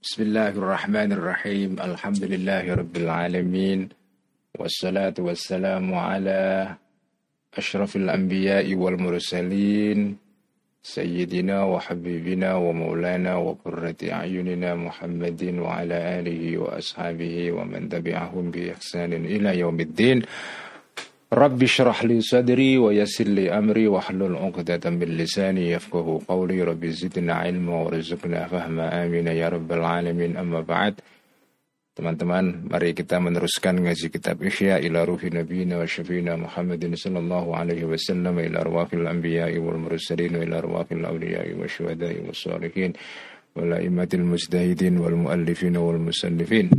Bismillahirrahmanirrahim. Alhamdulillahirabbil alamin. Wassalatu wassalamu ala asyrafil anbiya'i wal mursalin sayyidina wa habibina wa maulana wa qurrati a'yunina Muhammadin wa ala alihi wa ashabihi wa man tabi'ahum bi ihsanin ila yaumiddin. Rabbi syrah li sadri wa yassir li amri wa hlul 'uqdatam min lisani yafqahu qawli. Rabbi zidna ilma wa rizqna fahma, amin ya rabbal alamin. Amma ba'd. Teman-teman, mari kita meneruskan ngaji kitab Ihya ila ruhi nabiyina wa syafiina Muhammadin sallallahu alaihi wasallam, ila arwahil anbiya'i wal mursalin, ila arwahil awliya'i wa syuhada'i was shalihin wa la'immatil mujtahidin wal muallifin wal musannifin.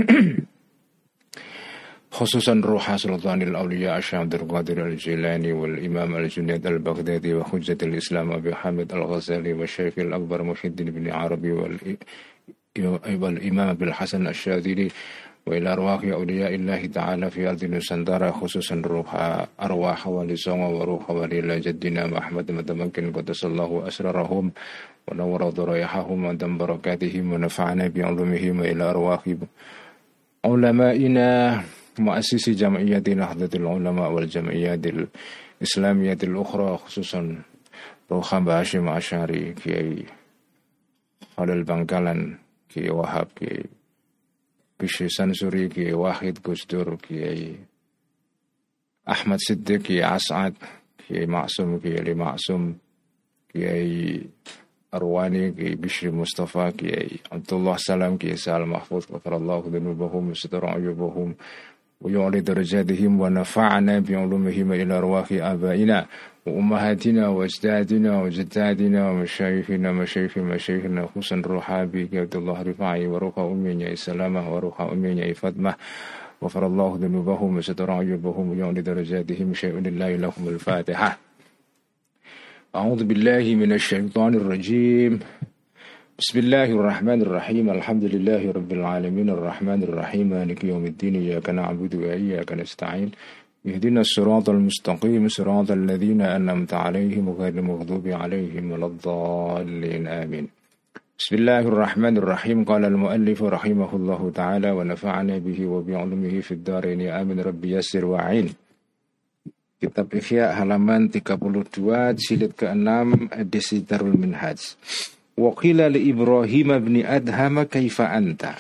Khususan Ruha Sultanil Awliya Asy'abdul Qadir Al-Jilani wal Imam Al-Junaid Al-Baghdadi wa Hujjatul Islam Abi Hamid Al-Ghazali wa Syekh Al-Akbar Muhyiddin bin Arabi wal Imam Abil Hasan Asy-Syadzili wa ila arwahi awliya'illahi ta'ala fi ardi Nusantara, khususan Ruha arwah wali songo wa ruha wali jaddina Muhammad mutamakkin qaddasallahu asrarahum wa nawwara dhurayahum wa dam barakatihim wa nafa'ana bi 'ulumihim wa ila arwahi ulama'ina muassisi jam'iyyati Nahdlatul Ulama wal jam'iyyatil Islamiyyatil ukhra, khususan Ruha Hashim Asy'ari, Kiai Khalil Bangkalan, Kiai Wahab, Kiai Bishri Sansuri, Kiai Wahid Gusdur, Kiai Ahmad Siddiq, Kiai As'ad, Kiai Maksum, Kiai Ali Maksum, Kiai Arwani, Kiai Bishri Mustafa, Kiai Abdullah Salam, Kiai Sa'al Mahfuz, ghafarallahu dzunubahum wa satara ayubahum wa yu'li darajatihim wa nafa'ana bi 'ulumihim ila arwahi abaina wa ummahatina wa ajdadina wa jaddadina wa masyayikhina khususan Ruhabi Abdullah Rifai wa ruha umminya Salamah wa ruha umminya Fatmah wa farallahu dzunubahum wa satara ayubahum wa yu'li darajatihim syai'un lillahi lahumul Fatihah. A'udzu billahi minasy syaithanir rajim. Bismillahirrahmanirrahim. Alhamdulillahi rabbil alamin arrahmanir rahim maliki yaumiddin iyyaka na'budu wa iyyaka nasta'in ihdinas siratal mustaqim siratal ladzina an'amta 'alaihim ghairil maghdubi 'alaihim waladdallin amin. Bismillahirrahmanirrahim. Qala al-muallif rahimahullahu ta'ala wa nafa'ana bihi wa bi 'ulumihi fid dharain amin rabbi yassir wa'in. Kitab Ihya halaman 32 jilid ke-6 edisi Darul Minhaj. Wa qila li Ibrahim bin Adham kaifa anta.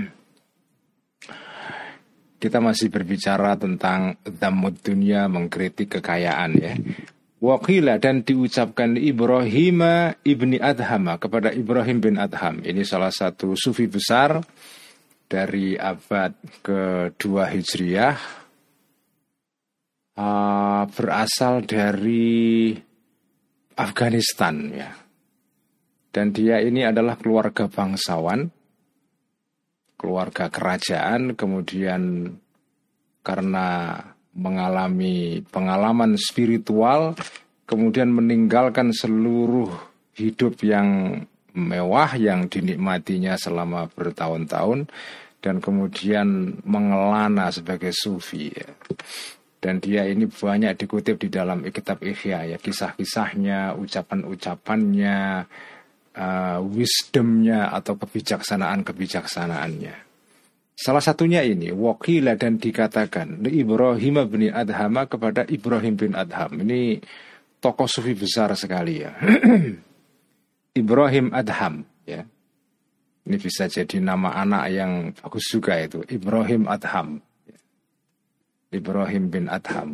Kita masih berbicara tentang dhammud dunya, mengkritik kekayaan ya. Wa qila, dan diucapkan Ibrahim ibni Adham, kepada Ibrahim bin Adham. Ini salah satu sufi besar dari abad kedua Hijriah, berasal dari Afghanistan ya. Dan dia ini adalah keluarga bangsawan, keluarga kerajaan, kemudian karena mengalami pengalaman spiritual, kemudian meninggalkan seluruh hidup yang mewah yang dinikmatinya selama bertahun-tahun, dan kemudian mengelana sebagai sufi ya. Dan dia ini banyak dikutip di dalam kitab Ihya ya, kisah-kisahnya, ucapan-ucapannya, wisdomnya atau kebijaksanaannya. Salah satunya ini waqila, dan dikatakan li Ibrahim bin Adham, kepada Ibrahim bin Adham. Ini tokoh sufi besar sekali ya. Ibrahim Adham ya. Ini bisa jadi nama anak yang bagus juga itu, Ibrahim Adham. Ibrahim bin Adham.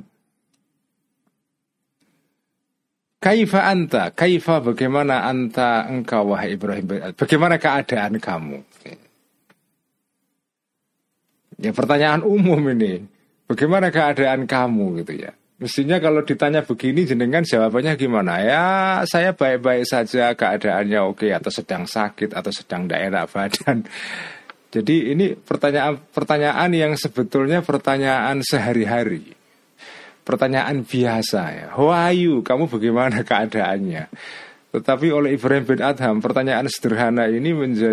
Kaifa anta, kaifa bagaimana anta engkau wahai Ibrahim bin Adham, bagaimana keadaan kamu? Ya pertanyaan umum ini, bagaimana keadaan kamu gitu ya. Mestinya kalau ditanya begini jenengan jawabannya gimana? Ya saya baik-baik saja, keadaannya oke, atau sedang sakit, atau sedang tidak enak badan. Jadi ini pertanyaan yang sebetulnya pertanyaan sehari-hari, pertanyaan biasa ya. Wahyu, kamu bagaimana keadaannya? Tetapi oleh Ibrahim bin Adham, pertanyaan sederhana ini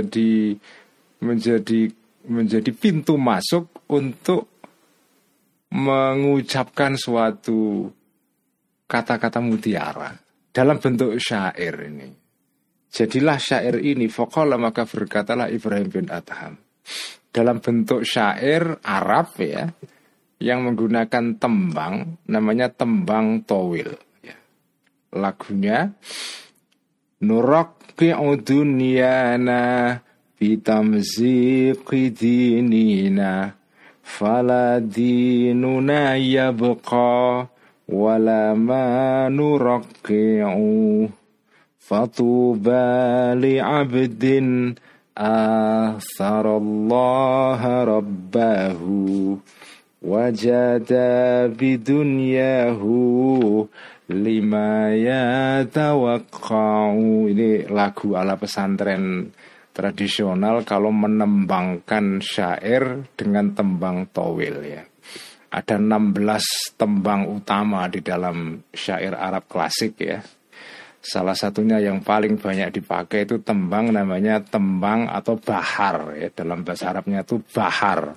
menjadi pintu masuk untuk mengucapkan suatu kata-kata mutiara dalam bentuk syair ini. Jadilah syair ini, faqala maka berkatalah Ibrahim bin Adham. Dalam bentuk syair Arab ya, yang menggunakan tembang, namanya tembang towil. Ya. Lagunya, Nuraqqi'u dunyana bitamziqi dinina, fala dinuna yabqa, wala ma nuraqqi'u. Fatuba li'abdin atharallaha rabbahu wajada bidunyahu lima yatawaqqa'u. Ini lagu ala pesantren tradisional kalau menembangkan syair dengan tembang towil ya. Ada 16 tembang utama di dalam syair Arab klasik ya. Salah satunya yang paling banyak dipakai itu tembang namanya tembang atau bahar ya. Dalam bahasa Arabnya itu bahar.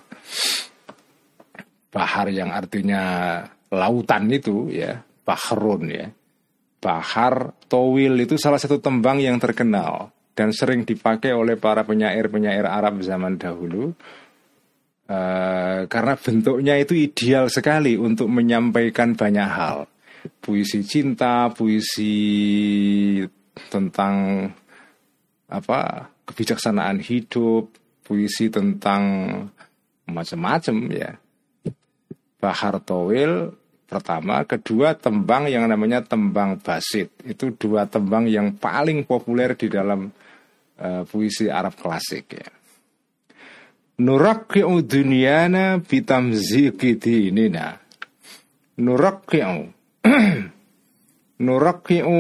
Bahar yang artinya lautan itu ya, bahrun ya. Bahar towil itu salah satu tembang yang terkenal dan sering dipakai oleh para penyair-penyair Arab zaman dahulu. Karena bentuknya itu ideal sekali untuk menyampaikan banyak hal. Puisi cinta, puisi tentang kebijaksanaan hidup, puisi tentang macam-macam ya. Bahar towil pertama, kedua tembang yang namanya tembang basit. Itu dua tembang yang paling populer di dalam puisi Arab klasik ya. Nuraqqi'u dunyana bitamziqi dinina. Nuraqqi'u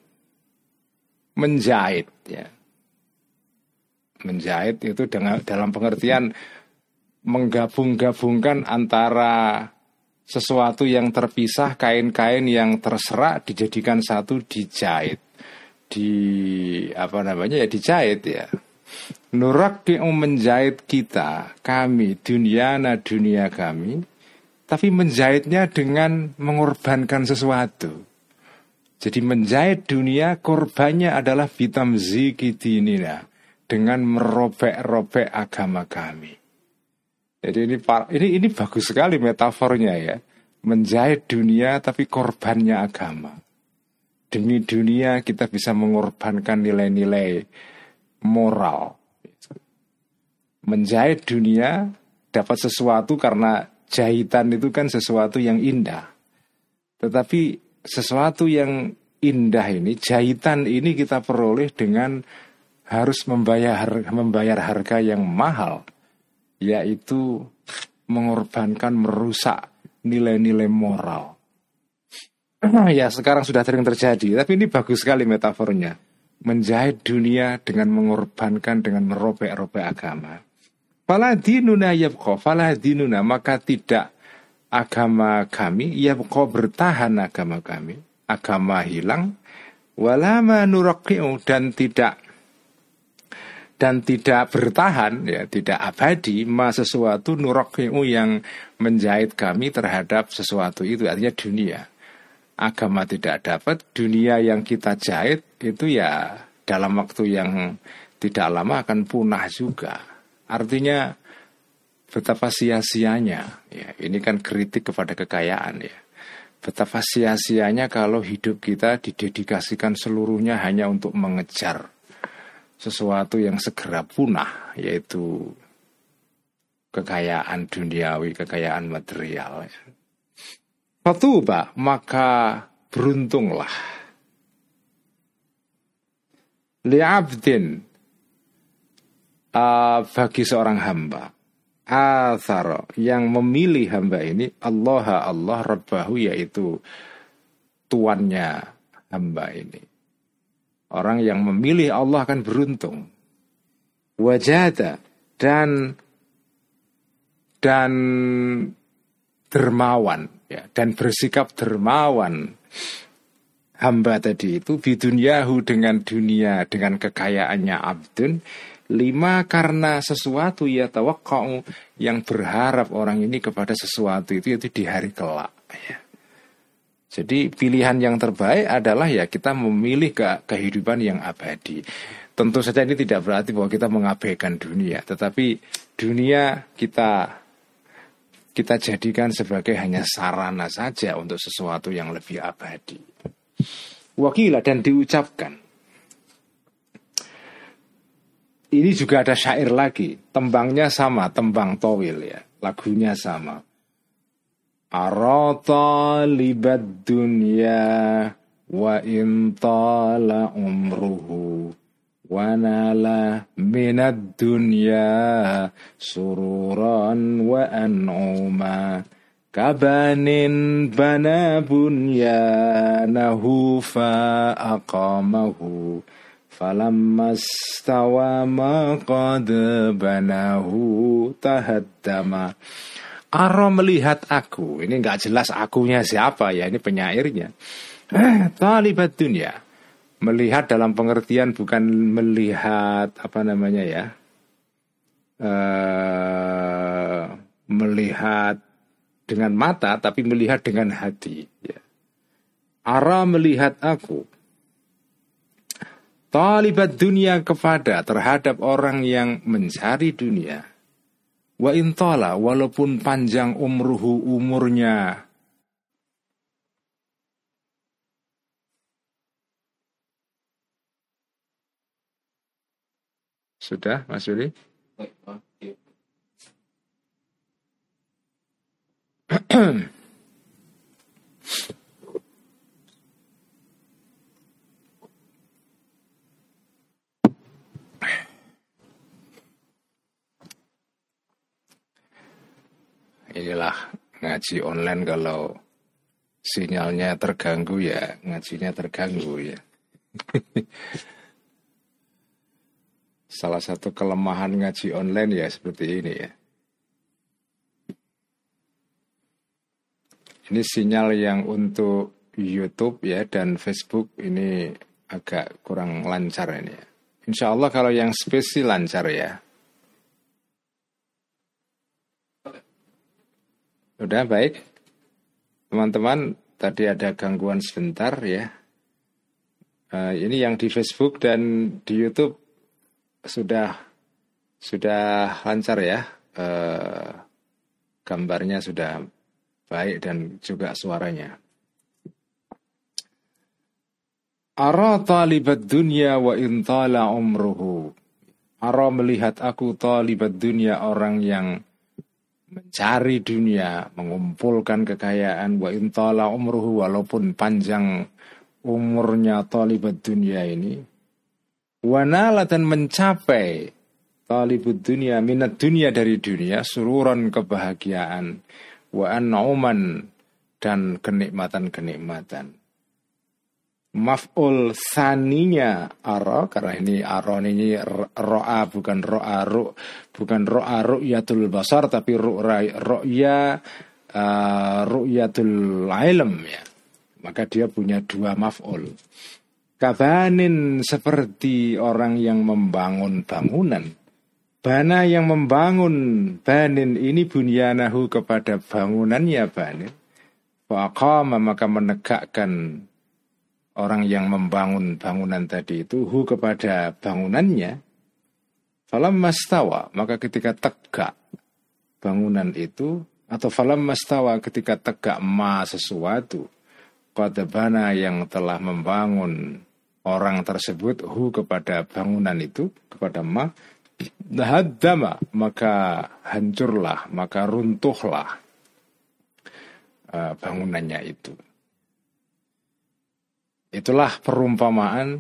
menjahit ya. Menjahit itu dalam pengertian menggabung-gabungkan antara sesuatu yang terpisah, kain-kain yang terserak dijadikan satu, dijahit. Dijahit ya. Nuraqqi'u menjahit kita, kami, dunia kami, tapi menjahitnya dengan mengorbankan sesuatu. Jadi menjahit dunia, korbannya adalah bitamziqi dinina, dengan merobek-robek agama kami. Jadi ini bagus sekali metafornya ya. Menjahit dunia tapi korbannya agama. Demi dunia kita bisa mengorbankan nilai-nilai moral. Menjahit dunia dapat sesuatu karena jahitan itu kan sesuatu yang indah. Tetapi sesuatu yang indah ini, jahitan ini kita peroleh dengan harus membayar harga yang mahal, yaitu mengorbankan, merusak nilai-nilai moral. Ya sekarang sudah sering terjadi, tapi ini bagus sekali metafornya. Menjahit dunia dengan mengorbankan, dengan merobek-robek agama. Fala dinuna yabqa, fala dinuna, maka tidak agama kami, yabqa bertahan agama kami, agama hilang, wala ma nuraqqi'u, dan tidak bertahan ya, tidak abadi ma sesuatu nuraqqi'u yang menjahit kami terhadap sesuatu itu, artinya dunia. Agama tidak dapat, dunia yang kita jahit itu ya dalam waktu yang tidak lama akan punah juga. Artinya betapa sia-sianya ya, ini kan kritik kepada kekayaan ya. Betapa sia-sianya kalau hidup kita didedikasikan seluruhnya hanya untuk mengejar sesuatu yang segera punah, yaitu kekayaan duniawi, kekayaan material ya. Fatuba, maka beruntunglah li'abdin, bagi seorang hamba, athara, yang memilih hamba ini, Allah rabbahu, yaitu tuannya hamba ini. Orang yang memilih Allah akan beruntung. Wajada, dan dermawan ya, dan bersikap dermawan hamba tadi itu bidunyahu, dengan dunia, dengan kekayaannya abdun, lima, karena sesuatu ya tawaqqa'u, yang berharap orang ini kepada sesuatu itu di hari kelak ya. Jadi pilihan yang terbaik adalah ya kita memilih kehidupan yang abadi. Tentu saja ini tidak berarti bahwa kita mengabaikan dunia, tetapi dunia kita jadikan sebagai hanya sarana saja untuk sesuatu yang lebih abadi. Wakila, dan diucapkan. Ini juga ada syair lagi, tembangnya sama, tembang towil ya, lagunya sama. Arata libat dunya wa intala umruhu wa nala minad dunya sururan wa an'uma kabanin bana bunyanahu fa aqamahu falamma stawa ma qad banahu tahaddama. Aro melihat aku, ini nggak jelas akunya siapa ya, ini penyairnya. Talibat dunia, melihat dalam pengertian bukan melihat apa namanya ya, melihat dengan mata, tapi melihat dengan hati. Ya. Ara melihat aku, talibat dunia kepada terhadap orang yang mencari dunia. Wa intala, walaupun panjang umruhu umurnya. Sudah, Mas Yuli? Inilah ngaji online, kalau sinyalnya terganggu ya ngajinya terganggu ya. Salah satu kelemahan ngaji online ya seperti ini ya. Ini sinyal yang untuk YouTube ya dan Facebook ini agak kurang lancar ini ya. Insya Allah kalau yang spesi lancar ya. Udah baik. Teman-teman, tadi ada gangguan sebentar ya. Ini yang di Facebook dan di YouTube sudah lancar ya. Gambarnya sudah baik dan juga suaranya. Ara talibat dunya wa intala umruhu. Ara melihat aku talibat dunya, orang yang mencari dunia, mengumpulkan kekayaan, wa intala umruhu, walaupun panjang umurnya talibat dunia ini, wa nala, dan mencapai talibud dunia minat dunia, dari dunia, sururan, kebahagiaan, wa an'uman, dan kenikmatan-kenikmatan. Maf'ul saninya ara, karena ini aron ini ro'a bukan ro'a ru, bukan ro'a ru'yatul basar, tapi ru'ya ru'yatul ilm ya. Maka dia punya dua maf'ul. Kabanin, seperti orang yang membangun bangunan. Bana, yang membangun, banin ini bunyanahu, kepada bangunannya banin. Faqama, maka menegakkan orang yang membangun bangunan tadi itu hu, kepada bangunannya. Falamma stawa, maka ketika tegak bangunan itu, atau falamma stawa, ketika tegak ma sesuatu, qad bana, yang telah membangun orang tersebut hu, kepada bangunan itu, kepada ma, haddama, maka hancurlah, maka runtuhlah bangunannya itu. Itulah perumpamaan.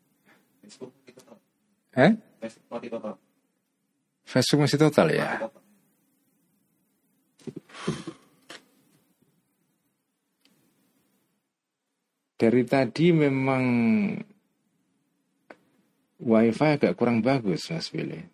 Facebook masih total ya. Dari tadi memang WiFi agak kurang bagus, Mas Billy.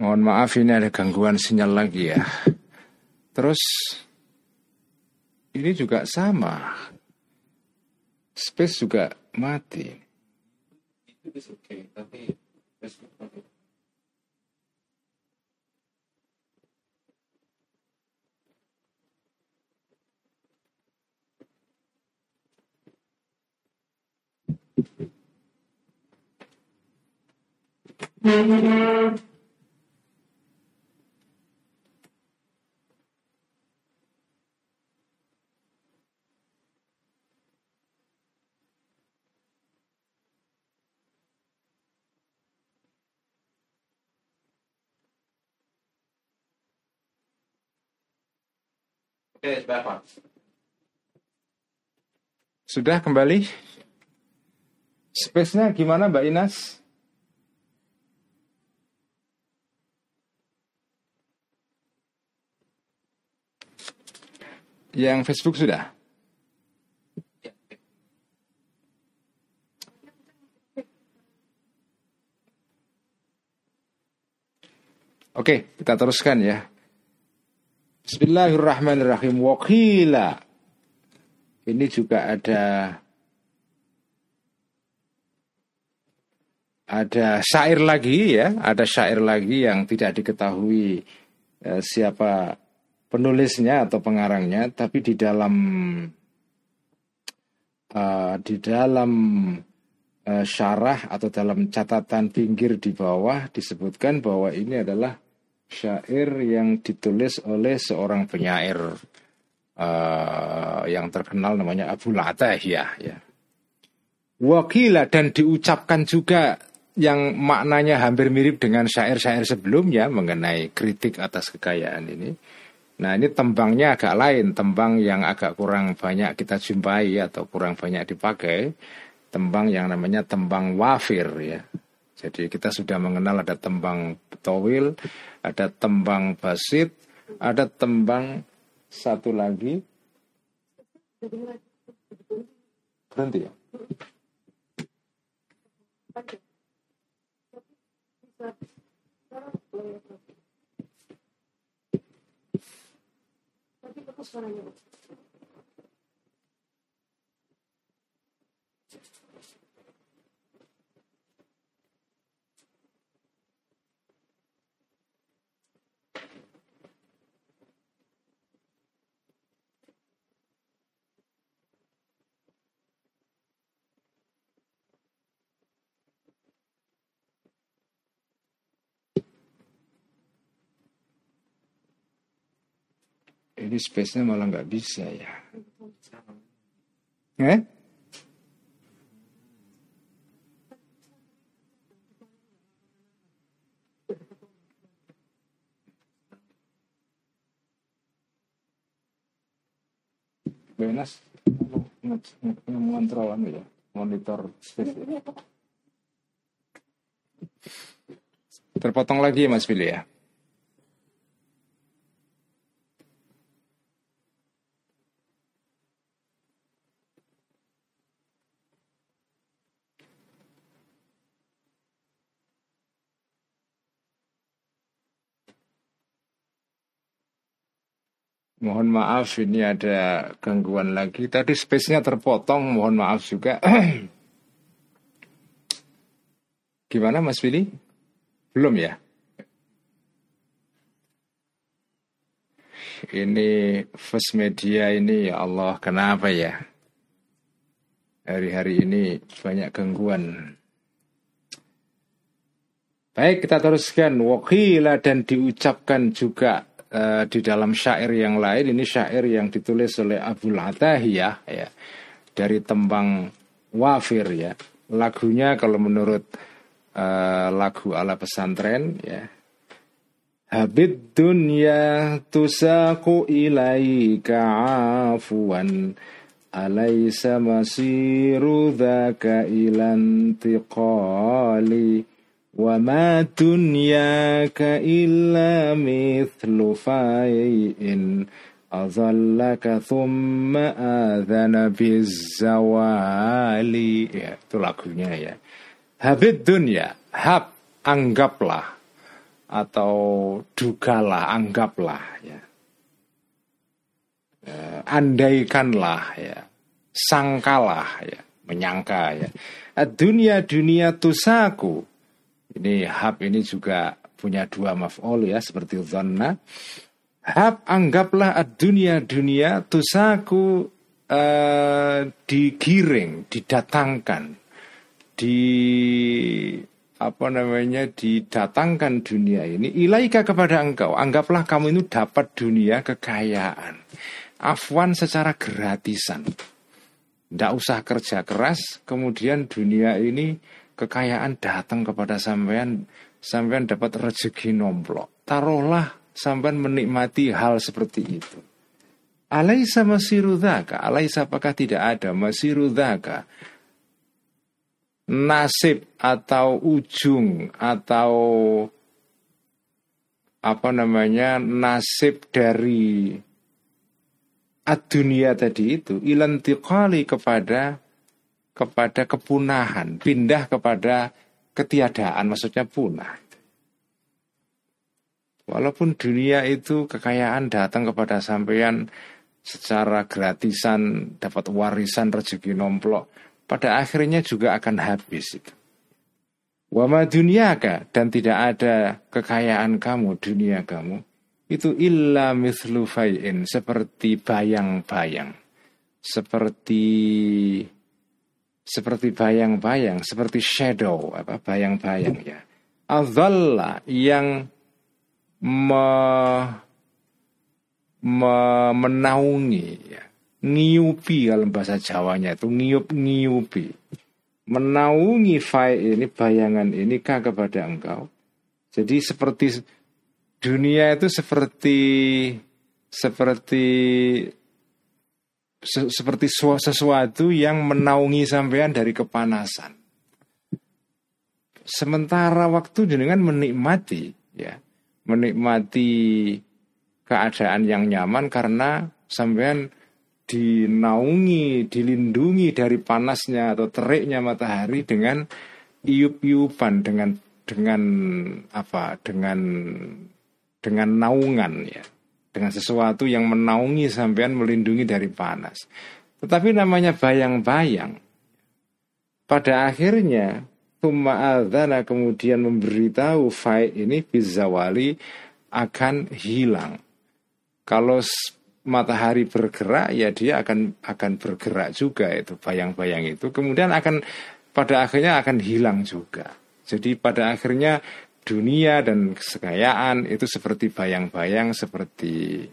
Mohon maaf ini ada gangguan sinyal lagi ya. Terus ini juga sama. Space juga mati. Itu bisa oke, tapi Facebook mati. Sudah kembali? Space-nya gimana Mbak Inas? Yang Facebook sudah? Oke, kita teruskan ya. Bismillahirrahmanirrahim. Waqila. Ini juga ada syair lagi ya, ada syair lagi yang tidak diketahui siapa penulisnya atau pengarangnya, tapi di dalam syarah atau dalam catatan pinggir di bawah disebutkan bahwa ini adalah syair yang ditulis oleh seorang penyair yang terkenal namanya Abul Atahiyah ya. Wakila, dan diucapkan juga yang maknanya hampir mirip dengan syair-syair sebelumnya mengenai kritik atas kekayaan ini. Nah ini tembangnya agak lain, tembang yang agak kurang banyak kita jumpai atau kurang banyak dipakai, tembang yang namanya tembang wafir ya. Jadi kita sudah mengenal ada tembang towil, ada tembang basit, ada tembang satu lagi. Berhenti ya? Ini space-nya malah nggak bisa ya. Benas mengontrol ya, monitor space ya. Terpotong lagi ya Mas Billy ya. Mohon maaf ini ada gangguan lagi. Tadi space-nya terpotong, mohon maaf juga. Gimana Mas Billy? Belum ya? Ini First Media ini ya Allah, kenapa ya? Hari-hari ini banyak gangguan. Baik, kita teruskan. Waqila, dan diucapkan juga di dalam syair yang lain. Ini syair yang ditulis oleh Abul Atahiyah ya, dari tembang wafir ya. Lagunya kalau menurut lagu ala pesantren ya, habid dunya tusaku ilaika afuan alaysa masiru dhaka ilan tiqali wa ma dunyaka illa mithlu fai'in azallaka thumma adhana bizzawali. Ya, itu lagunya ya. Habid dunya, anggaplah atau dugalah, anggaplah ya. Andaikanlah ya, sangkalah ya, menyangka ya. Dunia tusaku. Ini hab ini juga punya dua maf'ul ya, seperti dhanna. Hab anggaplah dunia tusaku, digiring, didatangkan, didatangkan dunia ini ilaika kepada engkau. Anggaplah kamu itu dapat dunia, kekayaan, afwan, secara gratisan. Tidak usah kerja keras, kemudian dunia ini, kekayaan datang kepada sampean dapat rezeki nomplok. Taruhlah sampean menikmati hal seperti itu. Alaisa masiru dzaka, alaisa apakah tidak ada masiru dzaka, nasib atau ujung atau nasib dari ad-dunia tadi itu ilantiqali kepada kepunahan, pindah kepada ketiadaan, maksudnya punah. Walaupun dunia itu kekayaan datang kepada sampeyan secara gratisan, dapat warisan rezeki nomplok, pada akhirnya juga akan habis itu. Wa ma dunyaka, dan tidak ada kekayaan kamu, dunia kamu itu illa mithlu fai'in, seperti bayang-bayang, seperti bayang-bayang, seperti shadow, bayang-bayang ya. Adzalla, yang menaungi ya. Ngiupi kalau bahasa Jawanya itu ngiupi, menaungi fai ini, bayangan ini kepada engkau. Jadi seperti dunia itu seperti sesuatu yang menaungi sampean dari kepanasan. Sementara waktu jenengan menikmati keadaan yang nyaman karena sampean dinaungi, dilindungi dari panasnya atau teriknya matahari dengan iup-iupan, dengan naungan ya, dengan sesuatu yang menaungi sampean, melindungi dari panas. Tetapi namanya bayang-bayang, pada akhirnya tsumma adzana, kemudian memberitahu fai ini bizawali, akan hilang. Kalau matahari bergerak ya dia akan bergerak juga, itu bayang-bayang itu kemudian pada akhirnya akan hilang juga. Jadi pada akhirnya dunia dan kekayaan itu seperti bayang-bayang, seperti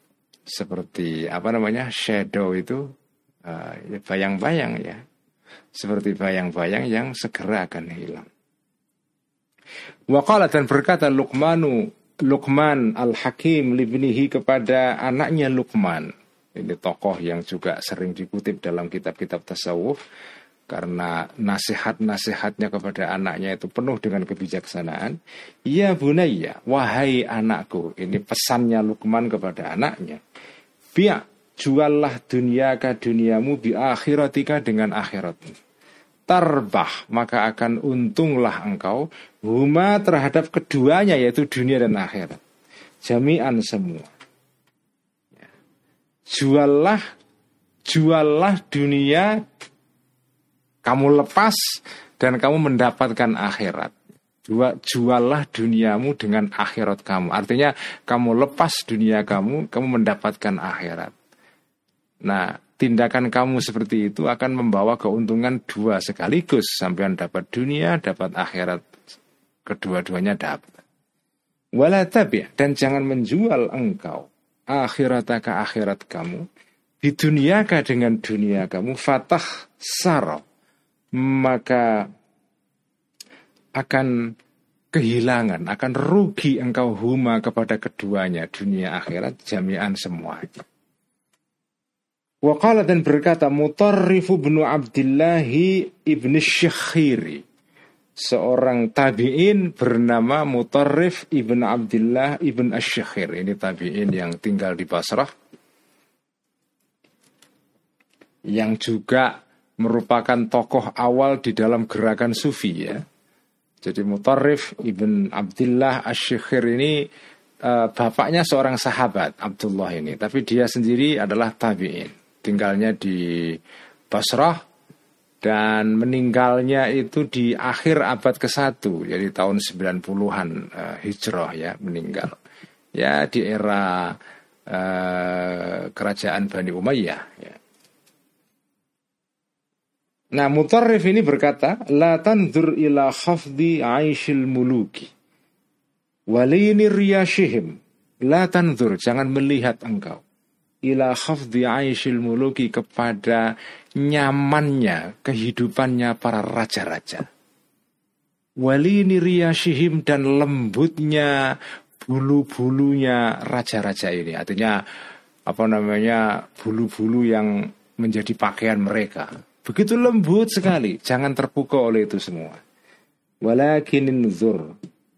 shadow itu, bayang-bayang ya, seperti bayang-bayang yang segera akan hilang. Waqala, dan berkata Luqman al-Hakim libnihi, kepada anaknya Luqman. Ini tokoh yang juga sering dikutip dalam kitab-kitab tasawuf karena nasihat-nasihatnya kepada anaknya itu penuh dengan kebijaksanaan. Ya bunayya, wahai anakku, ini pesannya Luqman kepada anaknya. Juallah duniamu bi akhiratika, dengan akhiratmu. Tarbah, maka akan untunglah engkau, huma, terhadap keduanya, yaitu dunia dan akhirat, jami'an, semua. Juallah dunia, kamu lepas, dan kamu mendapatkan akhirat. Juallah duniamu dengan akhirat kamu. Artinya kamu lepas dunia kamu mendapatkan akhirat. Nah, tindakan kamu seperti itu akan membawa keuntungan dua sekaligus. Sampean dapat dunia, dapat akhirat, kedua-duanya dapat. Wala tabi', dan jangan menjual engkau akhirataka, akhirat kamu, biduniaka, dengan dunia kamu, fatah saro, maka akan kehilangan, akan rugi engkau huma, kepada keduanya, dunia akhirat, jami'an, semuanya. Waqala, dan berkata Mutarrif bin Abdullah ibn Syakhiri, seorang tabi'in bernama Mutarrif ibn Abdullah ibn Asy-Syakhir. Ini tabi'in yang tinggal di Basrah, yang juga merupakan tokoh awal di dalam gerakan sufi ya. Jadi Mutarrif ibn Abdullah Asy-Syikhir ini bapaknya seorang sahabat Abdullah ini, tapi dia sendiri adalah tabi'in. Tinggalnya di Basrah dan meninggalnya itu di akhir abad ke-1, jadi tahun 90-an Hijrah ya, meninggal. Ya di era kerajaan Bani Umayyah ya. Nah, Mutarrif ini berkata, la tanzur ila khafdi 'aishil muluki walini riyashihim. La tanzur, jangan melihat engkau ila khafdi 'aishil muluki, kepada nyamannya kehidupannya para raja-raja. Walini riyashihim, dan lembutnya bulu-bulunya raja-raja ini. Artinya bulu-bulu yang menjadi pakaian mereka. Begitu lembut sekali, jangan terpukau oleh itu semua. Walakinin zur,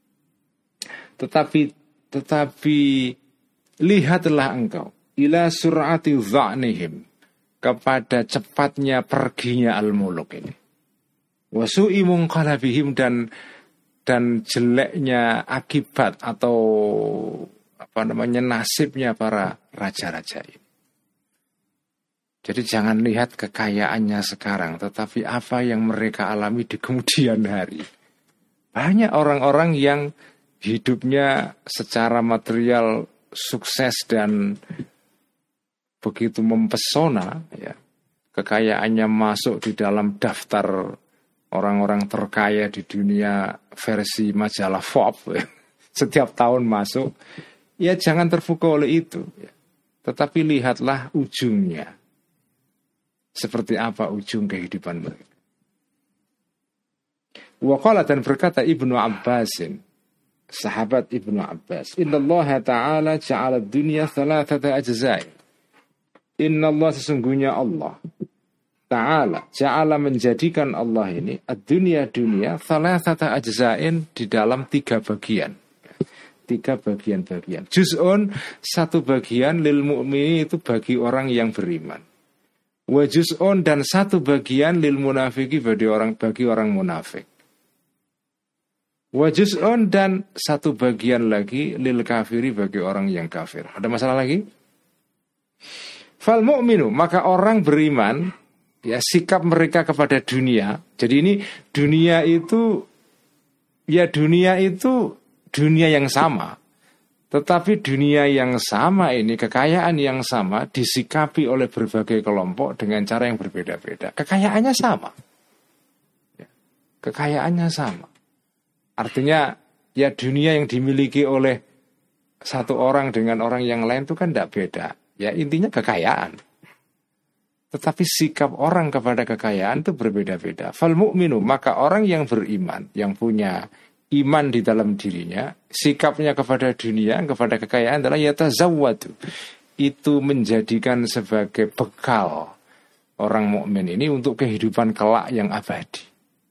tetapi lihatlah engkau ila sur'ati dha'nihim, kepada cepatnya perginya al-muluk ini. Wasu'i munqalabihim, dan jeleknya akibat atau nasibnya para raja-raja ini. Jadi jangan lihat kekayaannya sekarang, tetapi apa yang mereka alami di kemudian hari. Banyak orang-orang yang hidupnya secara material sukses dan begitu mempesona, ya. Kekayaannya masuk di dalam daftar orang-orang terkaya di dunia versi majalah Forbes, ya. Setiap tahun masuk. Ya jangan terpukau oleh itu, ya. Tetapi lihatlah ujungnya. Seperti apa ujung kehidupan mereka. Waqala, dan berkata Ibnu Abbasin, sahabat Ibnu Abbas, Inna Allah Ta'ala ja'ala dunia thalathata ajza'i. Inna Allah, sesungguhnya Allah Ta'ala ja'ala, menjadikan Allah ini ad-dunya, dunia thalathata ajza'in, di dalam 3 bagian. 3 bagian-bagian. Juz'un, 1 bagian, lil mu'mini, itu bagi orang yang beriman. Wa juz'un, dan 1 bagian lil munafiki, bagi orang munafik. Wa juz'un, dan 1 bagian lagi lil kafiri, bagi orang yang kafir. Ada masalah lagi? Fal mu'minu, maka orang beriman, ya, sikap mereka kepada dunia. Jadi ini dunia itu dunia yang sama. Tetapi dunia yang sama ini, kekayaan yang sama, disikapi oleh berbagai kelompok dengan cara yang berbeda-beda. Kekayaannya sama. Ya, kekayaannya sama. Artinya, ya dunia yang dimiliki oleh satu orang dengan orang yang lain itu kan tidak beda. Ya intinya kekayaan. Tetapi sikap orang kepada kekayaan itu berbeda-beda. Fal mu'minu, maka orang yang beriman, yang punya iman di dalam dirinya, sikapnya kepada dunia, kepada kekayaan adalah yatazawwadu. Itu menjadikan sebagai bekal orang mukmin ini untuk kehidupan kelak yang abadi.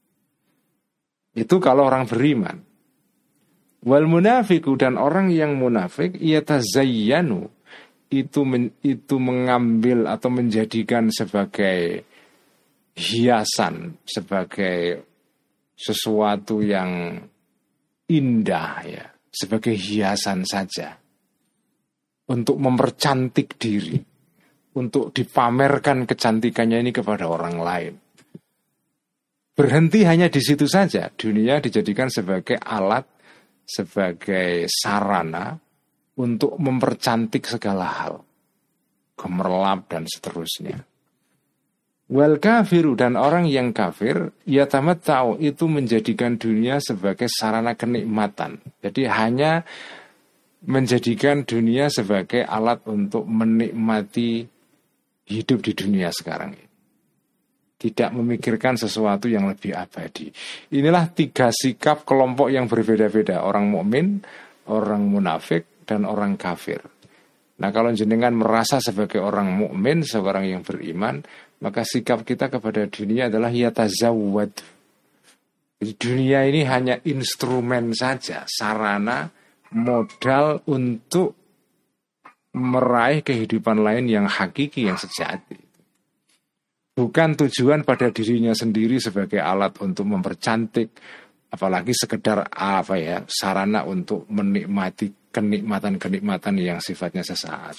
Itu kalau orang beriman. Wal munafiku, dan orang yang munafik, yatazayyanu, itu mengambil atau menjadikan sebagai hiasan, sebagai sesuatu yang indah, ya, sebagai hiasan saja, untuk mempercantik diri, untuk dipamerkan kecantikannya ini kepada orang lain. Berhenti hanya di situ saja. Dunia dijadikan sebagai alat, sebagai sarana untuk mempercantik segala hal, gemerlap dan seterusnya. Wal kafiru, dan orang yang kafir, yatamatta'u, itu menjadikan dunia sebagai sarana kenikmatan. Jadi hanya menjadikan dunia sebagai alat untuk menikmati hidup di dunia sekarang ini. Tidak memikirkan sesuatu yang lebih abadi. Inilah 3 sikap kelompok yang berbeda-beda. Orang mukmin, orang munafik, dan orang kafir. Nah, kalau jenengan merasa sebagai orang mukmin, seorang yang beriman, maka sikap kita kepada dunia adalah yatazawwad. Jadi dunia ini hanya instrumen saja, sarana, modal untuk meraih kehidupan lain yang hakiki, yang sejati. Bukan tujuan pada dirinya sendiri sebagai alat untuk mempercantik, apalagi sekedar sarana untuk menikmati kenikmatan-kenikmatan yang sifatnya sesaat.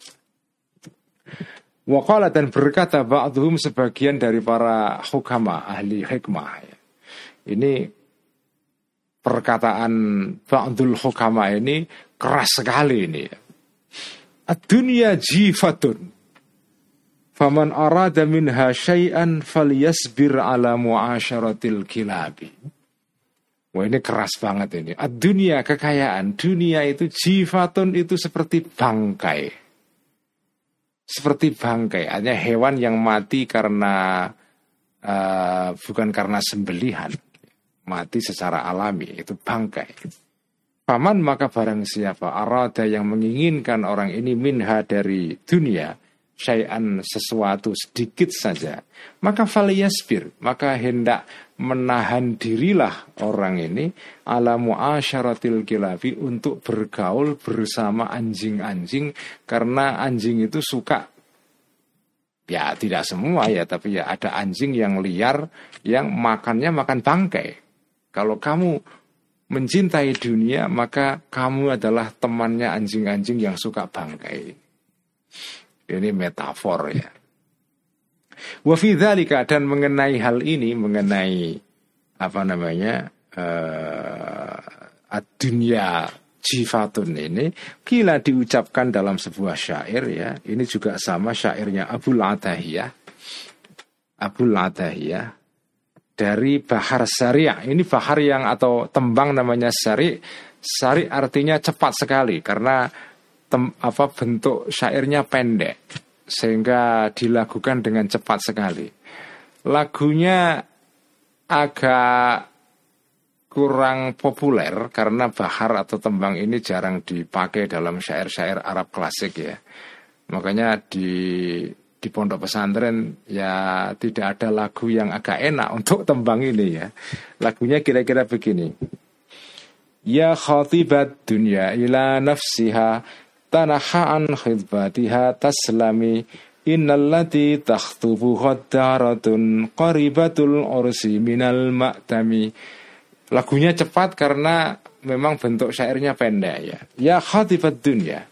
Waqala, dan berkata ba'dhum, sebagian dari para hukama, ahli hikmah. Ini perkataan ba'dul hukama ini keras sekali ini. Ad-dunya jifatun, faman arada minha syai'an falyasbir ala mu'asyaratil kilabi. Wah, ini keras banget ini. Ad-dunya, kekayaan. Dunia itu jifatun, itu seperti bangkai. Seperti bangkai, artinya hewan yang mati karena bukan karena sembelihan, mati secara alami, itu bangkai. Faman, maka barang siapa arada, yang menginginkan orang ini, minha, dari dunia, syai'an, sesuatu sedikit saja, maka falyasbir, maka hendak menahan dirilah orang ini ala mu'asyaratil kilabi, untuk bergaul bersama anjing-anjing, karena anjing itu suka, ya tidak semua ya, tapi ya ada anjing yang liar yang makannya makan bangkai. Kalau kamu mencintai dunia, maka kamu adalah temannya anjing-anjing yang suka bangkai. Ini metafor ya. Wa fi dzalika, dan mengenai hal ini, mengenai ad-dunya jifatun ini, kila diucapkan dalam sebuah syair ya. Ini juga sama syairnya Abul Atahiyah dari Bahar Sari'. Ini bahar yang, atau tembang namanya Sari'. Sari' artinya cepat sekali, karena bentuk syairnya pendek, sehingga dilakukan dengan cepat sekali. Lagunya agak kurang populer karena bahar atau tembang ini jarang dipakai dalam syair-syair Arab klasik ya. Makanya di pondok pesantren ya tidak ada lagu yang agak enak untuk tembang ini ya. Lagunya kira-kira begini. Ya khatibat dunya ila nafsiha, tanaha an khidbatiha taslami, innallati takhtubu khaddaratun qaribatul ursi minal ma'tami. Lagunya cepat karena memang bentuk syairnya pendek ya. Ya khatibat dunya,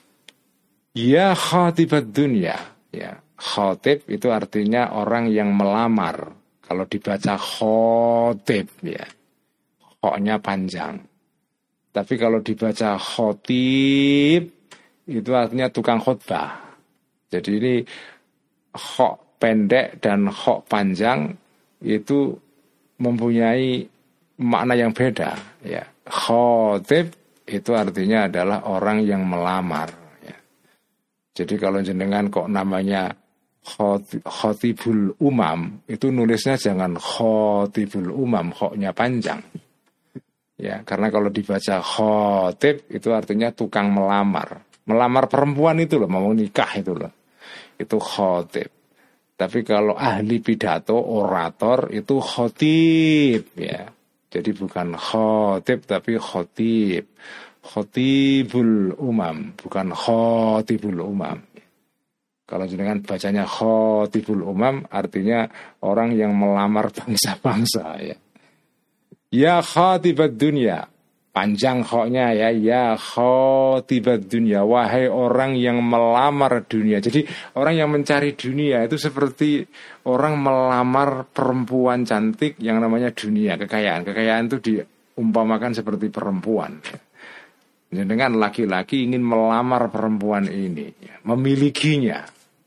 ya khatibat dunya ya. Khatib itu artinya orang yang melamar. Kalau dibaca khotib ya, khoknya panjang. Tapi kalau dibaca khotib itu artinya tukang khutbah. Jadi ini khok pendek dan khok panjang itu mempunyai makna yang beda ya. Khotib itu artinya adalah orang yang melamar ya. Jadi kalau jenengan kok namanya khotibul umam, itu nulisnya jangan khotibul umam, khoknya panjang ya, karena kalau dibaca khotib itu artinya tukang melamar. Melamar perempuan itu loh, mau nikah itu loh, itu khotib. Tapi kalau ahli pidato, orator, itu khotib ya. Jadi bukan khotib tapi khotib. Khotibul umam, bukan khotibul umam. Kalau jenengan bacanya khotibul umam, artinya orang yang melamar bangsa-bangsa ya. Ya khatibat dunya, panjang khoknya ya. Ya khatibat dunya, wahai orang yang melamar dunia. Jadi orang yang mencari dunia itu seperti orang melamar perempuan cantik yang namanya dunia, kekayaan. Kekayaan itu diumpamakan seperti perempuan. Dengan laki-laki ingin melamar perempuan ini, memilikinya.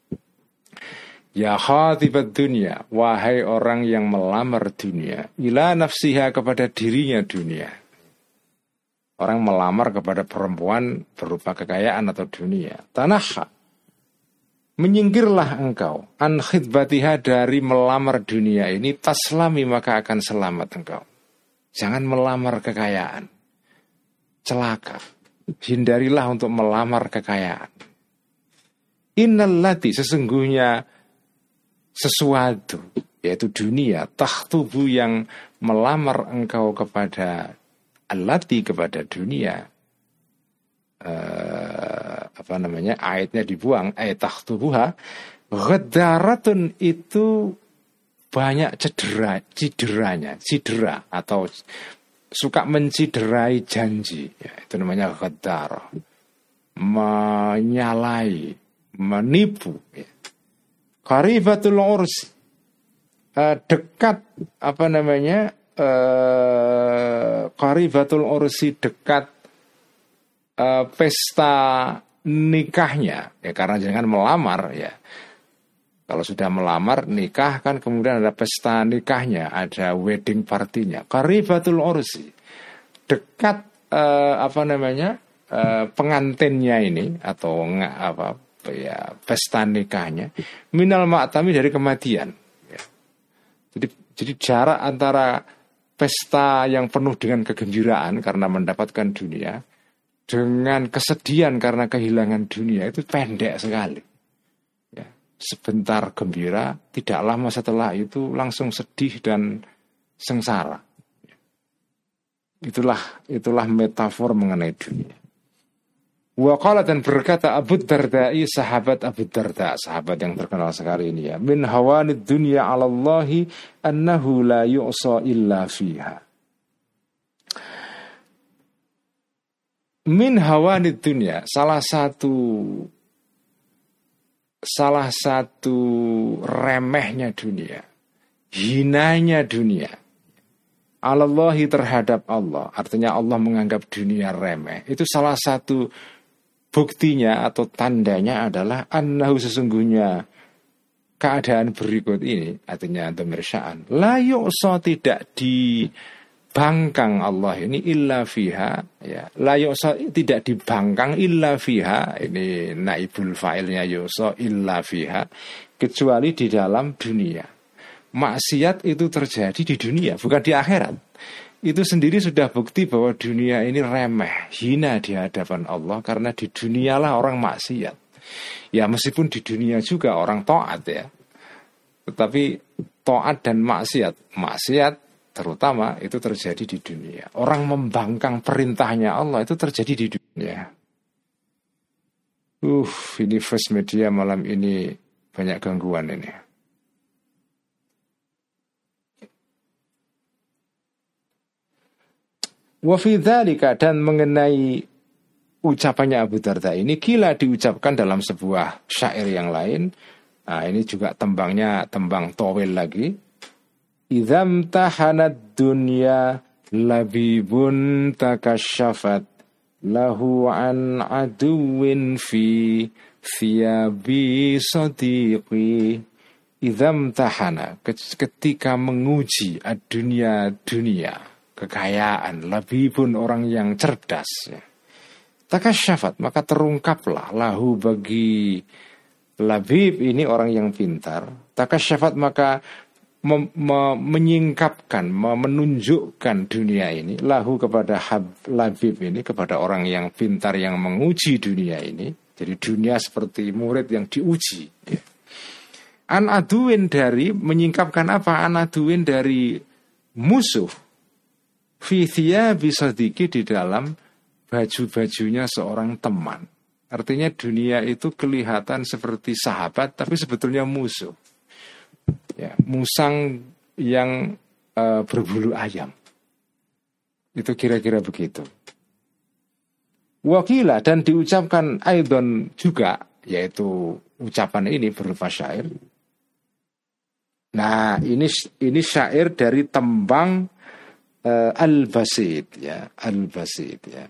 Ya khatibat dunya, wahai orang yang melamar dunia, ila nafsiha, kepada dirinya dunia. Orang melamar kepada perempuan berupa kekayaan atau dunia. Tanaha, menyingkirlah engkau, an khidbatiha, dari melamar dunia ini, taslami, maka akan selamat engkau. Jangan melamar kekayaan, celaka. Hindarilah untuk melamar kekayaan. Innallati, sesungguhnya sesuatu, yaitu dunia, takhtubu, yang melamar engkau kepada allati, kepada dunia. Ayatnya dibuang, ayat takhtubuha. Ghaddaratun, itu banyak cedera atau suka menciderai janji, ya, itu namanya ghadar, menyalai, menipu, ya. Qaribatul ursi, dekat qaribatul ursi, dekat pesta nikahnya, ya, karena jangan melamar, ya. Kalau sudah melamar, nikah kan kemudian ada pesta nikahnya, ada wedding partinya. Qaribatul ursi, dekat pengantinnya ini atau pesta nikahnya, minal ma'tami, dari kematian. Ya. Jadi jarak antara pesta yang penuh dengan kegembiraan karena mendapatkan dunia dengan kesedihan karena kehilangan dunia itu pendek sekali. Sebentar gembira, tidak lama setelah itu langsung sedih dan sengsara. Itulah metafor mengenai dunia. Wa qala, dan berkata Abu Darda'i, sahabat Abu Darda, sahabat yang terkenal sekali ini, ya, min hawanid dunya 'ala Allahi annahu la yu'sa illa fiha. Min hawanid dunya, salah satu remehnya dunia, hinanya dunia, Allahi, terhadap Allah, artinya Allah menganggap dunia remeh. Itu salah satu buktinya atau tandanya adalah annahu, sesungguhnya keadaan berikut ini, artinya dhamir sya'an, la yu'sa, tidak dibangkang Allah ini illa fiha, ya, la yu'sa, tidak dibangkang illa fiha, ini naibul fa'ilnya yu'sa, illa fiha, kecuali di dalam dunia. Maksiat itu terjadi di dunia, bukan di akhirat. Itu sendiri sudah bukti bahwa dunia ini remeh, hina di hadapan Allah, karena di dunialah orang maksiat. Ya, meskipun di dunia juga orang taat, ya, tetapi taat dan maksiat terutama itu terjadi di dunia. Orang membangkang perintahnya Allah itu terjadi di dunia. Ini First Media malam ini banyak gangguan ini. Wa fi dzalika, dan mengenai ucapannya Abu Darda ini, kila, diucapkan dalam sebuah syair yang lain. Nah, ini juga tembangnya tembang towil lagi. Idzam tahanad dunya labibun takasyafat lahu an aduwin fi thiyabi sadiqi. Idzam tahana, ketika menguji dunia, kekayaan, labibun, orang yang cerdas, ya. Takasyafat, maka terungkaplah, lahu, bagi labib ini orang yang pintar. Takasyafat, maka menyingkapkan, menunjukkan dunia ini, lahu, kepada labib ini, kepada orang yang pintar yang menguji dunia ini. Jadi dunia seperti murid yang diuji, ya. An aduin, dari menyingkapkan apa? An aduin, dari musuh. Fi thiyabi sadiqi, di dalam baju-bajunya seorang teman. Artinya dunia itu kelihatan seperti sahabat, tapi sebetulnya musuh. Ya, musang yang berbulu ayam. Itu kira-kira begitu. Wakila, dan diucapkan aidon juga, yaitu ucapan ini berupa syair. Nah, ini syair dari tembang Al-Basit, ya, Al-Basit, ya.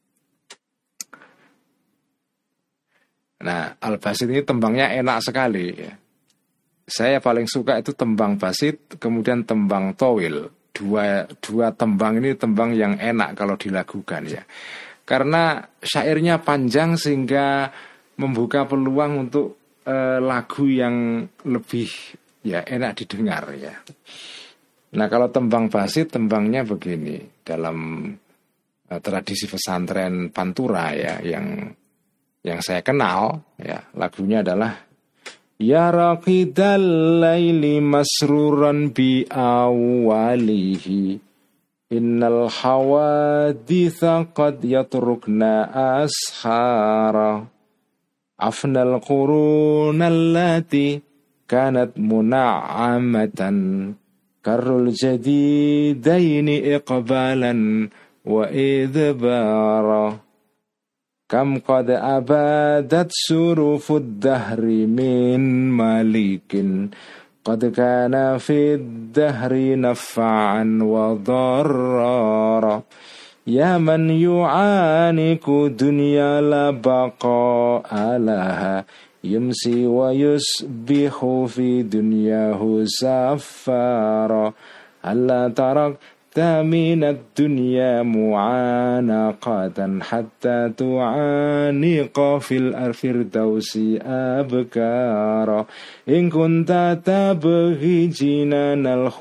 Nah, Al-Basit ini tembangnya enak sekali, ya. Saya paling suka itu tembang basit, kemudian tembang towil. Dua tembang ini tembang yang enak kalau dilakukan, ya. Karena syairnya panjang sehingga membuka peluang untuk lagu yang lebih, ya, enak didengar, ya. Nah, kalau tembang basit, tembangnya begini, dalam tradisi pesantren Pantura, ya, yang saya kenal, ya, lagunya adalah ya raqidal laili masruran bi awalihi innal hawaditha qad yatrukna ashara afnal qurunallati kanat muna'amatan karul jadidaini iqbalan wa idbara kam qad abadat surufud dahri min malikin qad kana fid dahri naf'an wa darrara ya man yu'aniku dunya la baqa'a laha yumsi wa yusbihu fi dunyahu safara alla tarak minad dunya mu'anaqatan hatta tu'aniqa fil firdausi abkara in kunta tabghi jinanal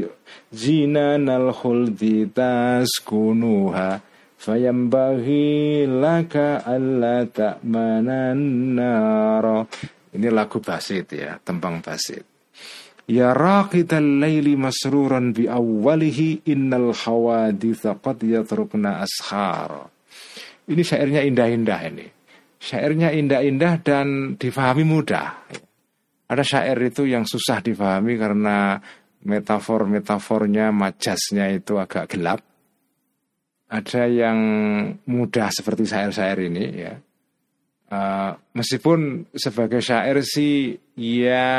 khuldi taskunuha fayambaghi laka alla ta'manan nara. Ini lagu basit ya, tembang basit. Ya raqidal laili masruran bi awwalihi innal hawaditha qad yatrukna ashar. Ini syairnya indah-indah ini. Syairnya indah-indah dan difahami mudah. Ada syair itu yang susah difahami karena metafor-metafornya, majasnya itu agak gelap. Ada yang mudah seperti syair-syair ini ya. Meskipun sebagai syair sih ya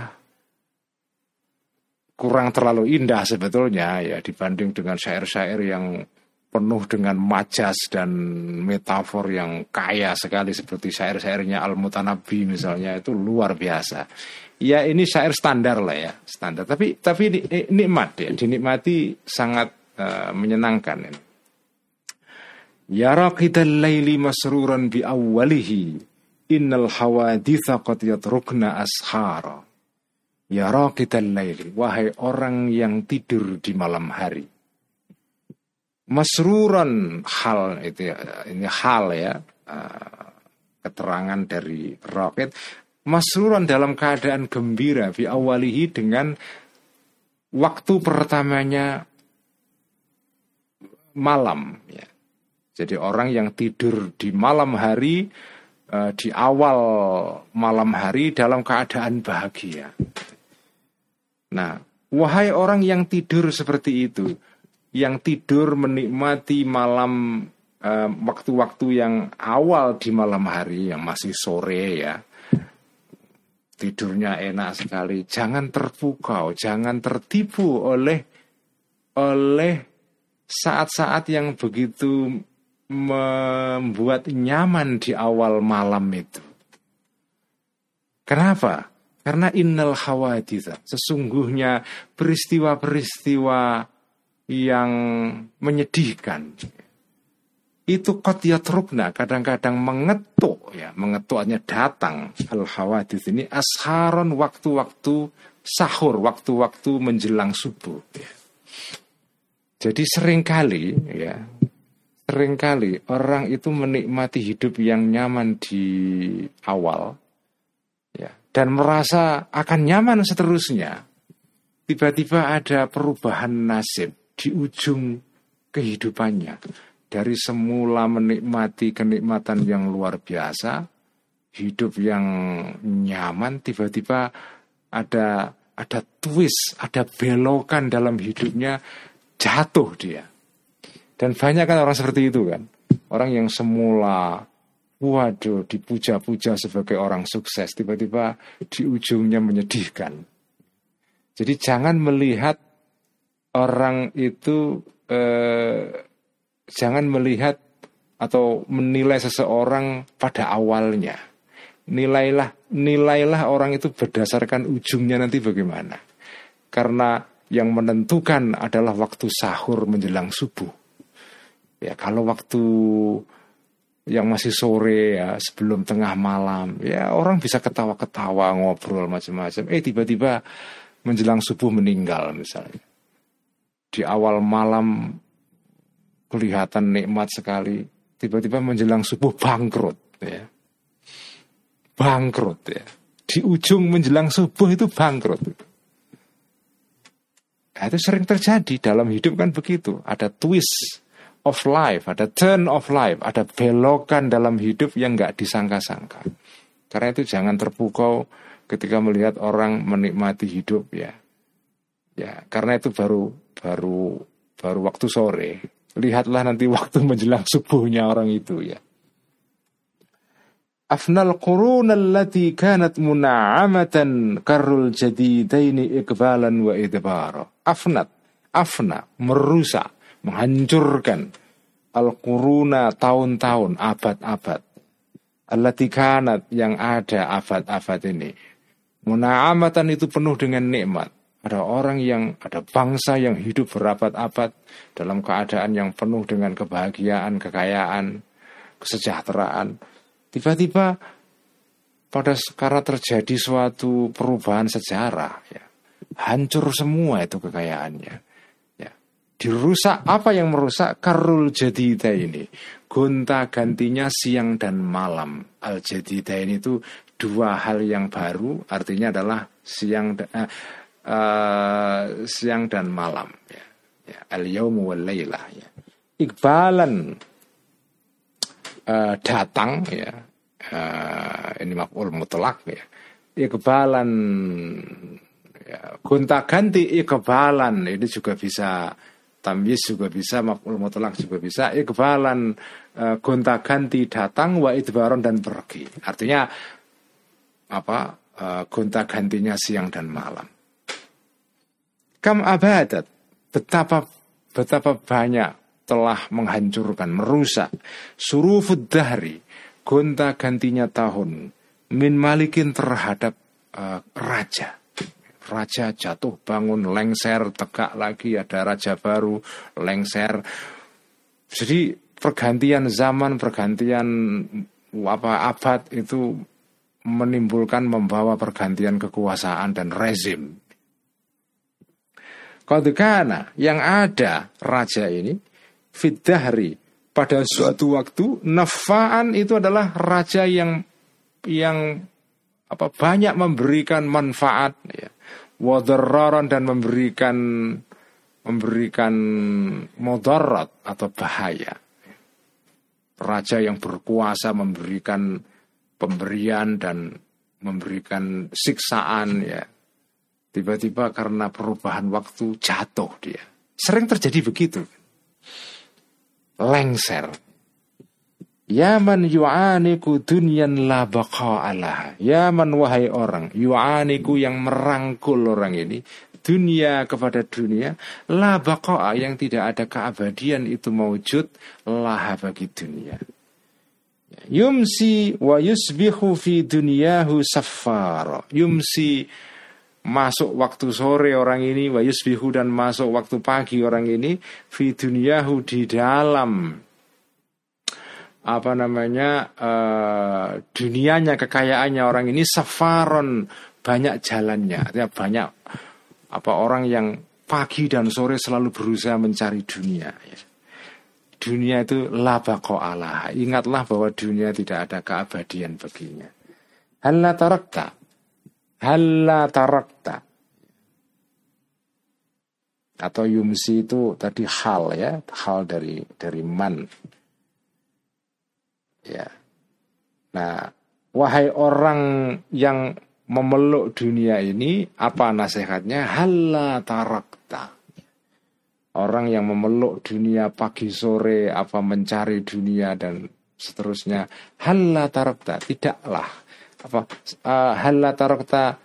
kurang terlalu indah sebetulnya ya dibanding dengan syair-syair yang penuh dengan majas dan metafor yang kaya sekali seperti syair-syairnya Al-Mutanabbi misalnya, itu luar biasa. Ya ini syair standar lah ya, standar. Tapi nikmat ya, dinikmati sangat menyenangkan ini. Ya raqidal laili masruran bi awwalihi innal hawaditha qad yatrukna ashara. Ya raqidal laili, wahai orang yang tidur di malam hari. Masruran hal itu ya, ini hal ya, keterangan dari raqid. Masruran dalam keadaan gembira fi awalihi dengan waktu pertamanya malam ya. Jadi orang yang tidur di malam hari, di awal malam hari dalam keadaan bahagia. Nah, wahai orang yang tidur seperti itu, yang tidur menikmati malam, waktu-waktu yang awal di malam hari, yang masih sore ya, tidurnya enak sekali. Jangan terpukau, jangan tertipu oleh saat-saat yang begitu membuat nyaman di awal malam itu. Kenapa? Karena innal hawaditha, sesungguhnya peristiwa-peristiwa yang menyedihkan itu qad yatrukna, kadang-kadang mengetuk ya, mengetuknya datang. Al hawadits ini asharon, waktu-waktu sahur, waktu-waktu menjelang subuh ya. Jadi seringkali orang itu menikmati hidup yang nyaman di awal ya, dan merasa akan nyaman seterusnya. Tiba-tiba ada perubahan nasib di ujung kehidupannya. Dari semula menikmati kenikmatan yang luar biasa, hidup yang nyaman, tiba-tiba ada twist, ada belokan dalam hidupnya, jatuh dia. Dan banyak kan orang seperti itu kan. Orang yang semula waduh dipuja-puja sebagai orang sukses, tiba-tiba di ujungnya menyedihkan. Jadi jangan melihat orang itu, jangan melihat atau menilai seseorang pada awalnya. Nilailah orang itu berdasarkan ujungnya nanti bagaimana. Karena yang menentukan adalah waktu sahur menjelang subuh. Ya, kalau waktu yang masih sore ya, sebelum tengah malam, ya orang bisa ketawa-ketawa, ngobrol macam-macam. Tiba-tiba menjelang subuh meninggal misalnya. Di awal malam kelihatan nikmat sekali, tiba-tiba menjelang subuh bangkrut ya. Bangkrut ya. Di ujung menjelang subuh itu bangkrut. Nah, itu sering terjadi dalam hidup kan begitu. Ada twist of life, ada turn of life, ada belokan dalam hidup yang gak disangka-sangka. Karena itu jangan terpukau ketika melihat orang menikmati hidup ya. Ya, karena itu baru waktu sore. Lihatlah nanti waktu menjelang subuhnya orang itu ya. Afnal qurun allati kanat muna'amatan karrul jadidaini iqbalan wa idbara. Afna merusak, menghancurkan al-quruna tahun-tahun, abad-abad. Allati kanat yang ada abad-abad ini. Muna'amatan itu penuh dengan nikmat. Ada bangsa yang hidup berabad-abad dalam keadaan yang penuh dengan kebahagiaan, kekayaan, kesejahteraan. Tiba-tiba karena terjadi suatu perubahan sejarah, ya, hancur semua itu kekayaannya. Ya. Dirusak, apa yang merusak? Karul jadida ini, gonta-gantinya siang dan malam. Al jadida ini itu dua hal yang baru, artinya adalah siang dan malam. Ya. Ya. Al-yawmu wal laylah. Ya. Iqbalan, datang ya, ini maf'ul mutlak ya, iqbalan ya, gonta-ganti iqbalan ini juga bisa, tamyiz juga bisa, maf'ul mutlak juga bisa, iqbalan gonta-ganti datang, wa idbaron dan pergi, artinya apa, gonta-gantinya siang dan malam. Kam abadat, betapa banyak telah menghancurkan, merusak surufud dahri, gonta-gantinya tahun, min malikin terhadap raja jatuh bangun, lengser, tegak lagi, ada raja baru, lengser. Jadi pergantian zaman, pergantian abad itu membawa pergantian kekuasaan dan rezim. Qadkana, yang ada raja ini Fiddahri, pada suatu waktu, nafa'an itu adalah raja yang banyak memberikan manfaat ya. Wadarraran, dan memberikan mudarat atau bahaya. Raja yang berkuasa memberikan pemberian dan memberikan siksaan ya. Tiba-tiba karena perubahan waktu jatuh dia. Sering terjadi begitu. Lengser. Yaman yu'aniku dunyan la baqa'alaha. Yaman, wahai orang, yu'aniku yang merangkul orang ini, dunia kepada dunia, la baqa'a yang tidak ada keabadian itu mewujud, laha bagi dunia. Yumsi wa yusbihu fi dunyahu saffara. Yumsi, masuk waktu sore orang ini, wa yusbihu, dan masuk waktu pagi orang ini, fi dunyahu, di dalam dunianya, kekayaannya orang ini, safaron, banyak jalannya, artinya banyak orang yang pagi dan sore selalu berusaha mencari dunia ya. Dunia itu la baqa'alaha. Ingatlah bahwa dunia tidak ada keabadian baginya. Halla tarakta, atau yumsi itu tadi hal ya, hal dari man ya. Nah, wahai orang yang memeluk dunia ini, apa nasihatnya? Halla tarakta. Orang yang memeluk dunia pagi sore, mencari dunia dan seterusnya. Halla tarakta, tidaklah halla tarakta,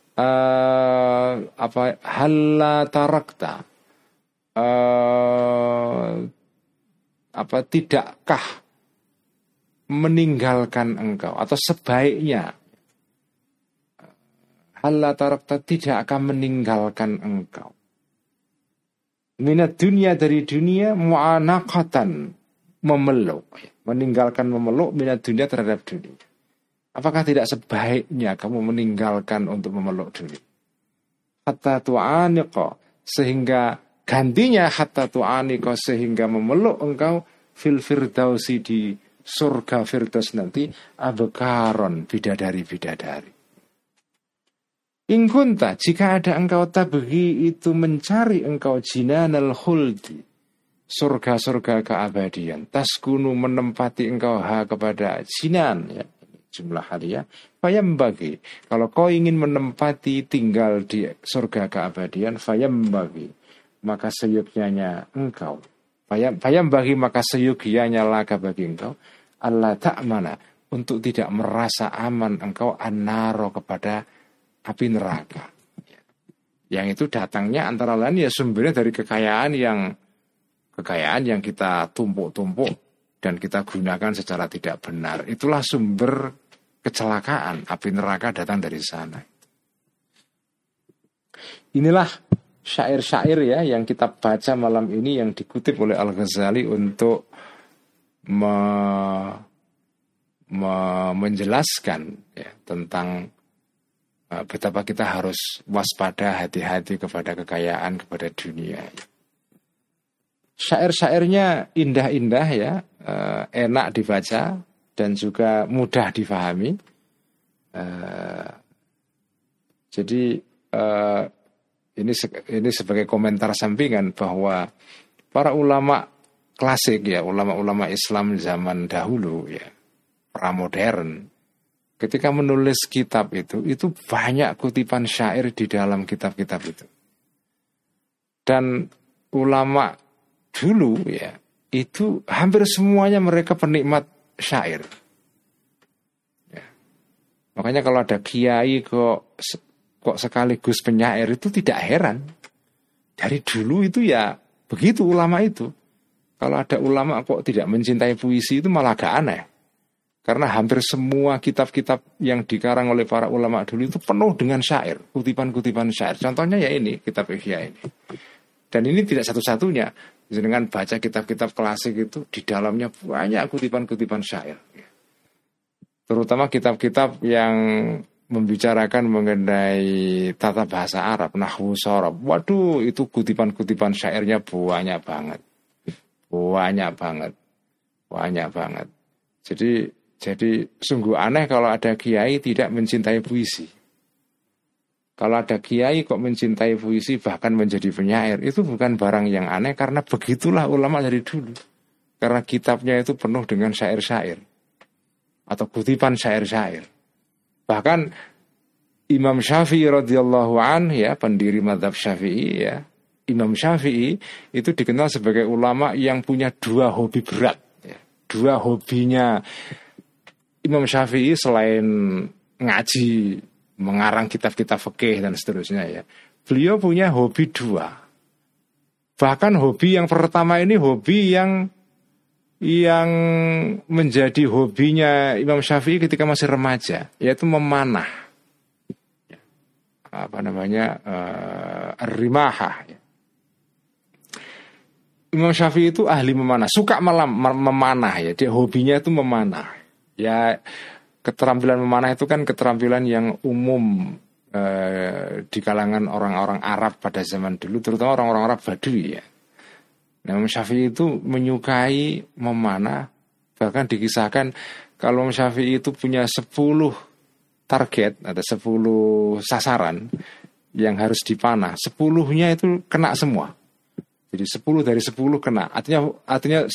tidakkah meninggalkan engkau, atau sebaiknya halla tarakta, tidak akan meninggalkan engkau, minat dunia, dari dunia, mu'anaqatan, memeluk, meninggalkan memeluk, minat dunia, terhadap dunia. Apakah tidak sebaiknya kamu meninggalkan untuk memeluk dunia? Hatta tu'aniqa, sehingga gantinya hatta tu'aniqa, sehingga memeluk engkau fil firdausi, di surga firdaus nanti, abkaron, bidadari-bidadari. Ingkunta, jika ada engkau tabghi, itu mencari engkau jinanal khuldi, surga-surga keabadian, taskunu, menempati engkau kepada jinan ya. jumlah hadiah. Fayam bagi, kalau kau ingin menempati tinggal di surga keabadian, fayam bagi, maka seyogyanya engkau, fayam bagi, maka seyogyanya laka bagi engkau, Allah ta'mana, untuk tidak merasa aman engkau annaro, kepada api neraka. Yang itu datangnya antara lain ya sumbernya dari kekayaan yang kita tumpuk-tumpuk dan kita gunakan secara tidak benar. Itulah sumber kecelakaan. Api neraka datang dari sana. Inilah syair-syair ya yang kita baca malam ini, yang dikutip oleh Al-Ghazali untuk menjelaskan ya, tentang betapa kita harus waspada, hati-hati kepada kekayaan, kepada dunia. Syair-syairnya indah-indah ya, enak dibaca dan juga mudah difahami. Jadi ini sebagai komentar sampingan bahwa para ulama klasik ya, ulama-ulama Islam zaman dahulu ya, pramodern, ketika menulis kitab itu banyak kutipan syair di dalam kitab-kitab itu. Dan ulama dulu ya, itu hampir semuanya mereka penikmat syair. Ya. Makanya kalau ada kiai kok sekaligus penyair itu tidak heran. Dari dulu itu ya begitu ulama itu. Kalau ada ulama kok tidak mencintai puisi itu malah agak aneh. Karena hampir semua kitab-kitab yang dikarang oleh para ulama dulu itu penuh dengan syair, kutipan-kutipan syair. Contohnya ya ini, kitab Ihya ini. Dan ini tidak satu-satunya. Dengan baca kitab-kitab klasik itu di dalamnya banyak kutipan-kutipan syair. Terutama kitab-kitab yang membicarakan mengenai tata bahasa Arab, nahwu shorab. Waduh, itu kutipan-kutipan syairnya banyak banget. Banyak banget. Jadi sungguh aneh kalau ada kiai tidak mencintai puisi. Kalau ada kiai kok mencintai puisi bahkan menjadi penyair, itu bukan barang yang aneh, karena begitulah ulama dari dulu. Karena kitabnya itu penuh dengan syair-syair atau kutipan syair-syair. Bahkan Imam Syafi'i radhiyallahu anhu ya, pendiri mazhab Syafi'i ya, Imam Syafi'i itu dikenal sebagai ulama yang punya dua hobi berat ya. Dua hobinya Imam Syafi'i selain ngaji, mengarang kitab-kitab fikih dan seterusnya ya, beliau punya hobi dua. Bahkan hobi yang pertama ini hobi yang menjadi hobinya Imam Syafi'i ketika masih remaja, yaitu memanah. Rimahah ya. Imam Syafi'i itu ahli memanah, suka memanah ya, dia hobinya itu memanah. Ya, keterampilan memanah itu kan keterampilan yang umum di kalangan orang-orang Arab pada zaman dulu, terutama orang-orang Arab Badui ya. Nah, Imam Syafi'i itu menyukai memanah. Bahkan dikisahkan kalau Imam Syafi'i itu punya 10 target, ada 10 sasaran yang harus dipanah, 10-nya itu kena semua. Jadi 10 dari 10 kena, artinya 100%.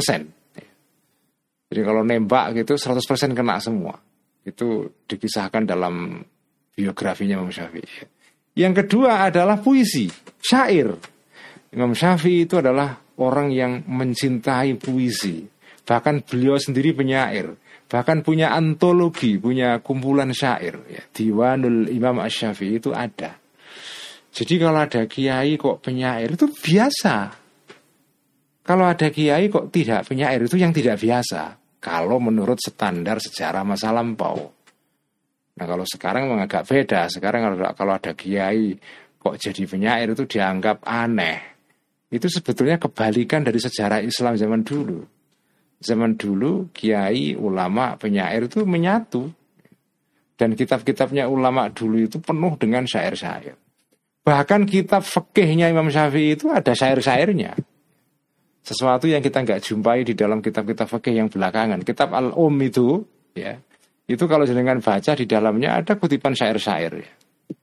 Jadi kalau nembak gitu 100% kena semua. Itu dikisahkan dalam biografinya Imam Syafi'i. Yang kedua adalah puisi, syair. Imam Syafi'i itu adalah orang yang mencintai puisi. Bahkan beliau sendiri penyair. Bahkan punya antologi, punya kumpulan syair ya. Diwanul Imam Asy-Syafi'i itu ada. Jadi kalau ada kiai kok penyair itu biasa. Kalau ada kiai kok tidak penyair itu yang tidak biasa. Kalau menurut standar sejarah masa lampau. Nah kalau sekarang agak beda. Sekarang kalau ada kiai kok jadi penyair itu dianggap aneh. Itu sebetulnya kebalikan dari sejarah Islam zaman dulu. Zaman dulu kiai, ulama, penyair itu menyatu. Dan kitab-kitabnya ulama dulu itu penuh dengan syair-syair. Bahkan kitab fikihnya Imam Syafi'i itu ada syair-syairnya. Sesuatu yang kita nggak jumpai di dalam kitab-kitab fikih yang belakangan. Kitab itu ya, itu kalau jenengan baca di dalamnya ada kutipan syair-syair ya.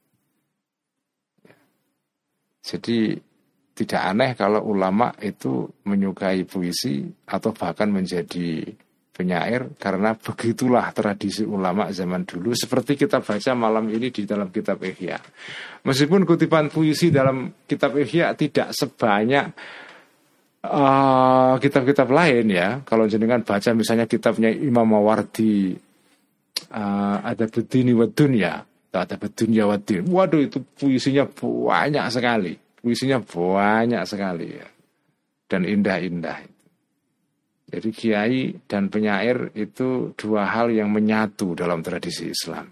Jadi tidak aneh kalau ulama itu menyukai puisi atau bahkan menjadi penyair, karena begitulah tradisi ulama zaman dulu. Seperti kita baca malam ini di dalam kitab Ihya. Meskipun kutipan puisi dalam kitab Ihya tidak sebanyak kitab-kitab lain ya. Kalau jenengan baca misalnya kitabnya Imam Mawardi, ada Bedini wa Dunya, ada Bedunya wa Din. Waduh, itu puisinya banyak sekali. Ya. Dan indah-indah. Jadi kiai dan penyair itu dua hal yang menyatu dalam tradisi Islam.